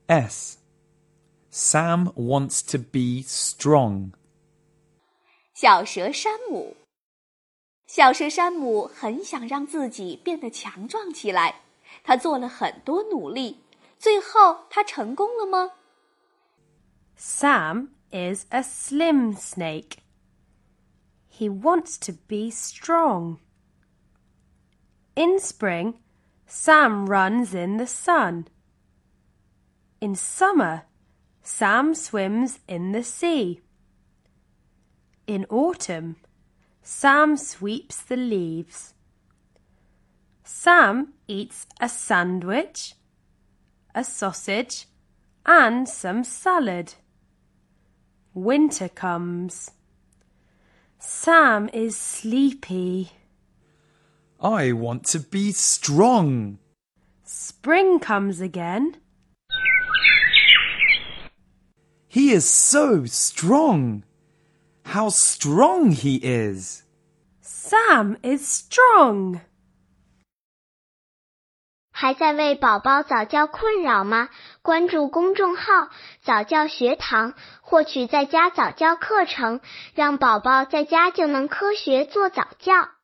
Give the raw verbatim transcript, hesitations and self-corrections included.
S. Sam wants to be strong. 小蛇山姆。小蛇山姆很想让自己变得强壮起来，他做了很多努力，最后他成功了吗？ Sam is a slim snake. He wants to be strong. In spring, Sam runs in the sun. In summer, Sam swims in the sea. In autumn, Sam sweeps the leaves. Sam eats a sandwich, a sausage, and some salad. Winter comes. Sam is sleepy. I want to be strong. Spring comes again. He is so strong. How strong he is. Sam is strong. 还在为宝宝早教困扰吗？关注公众号早教学堂，获取在家早教课程，让宝宝在家就能科学做早教。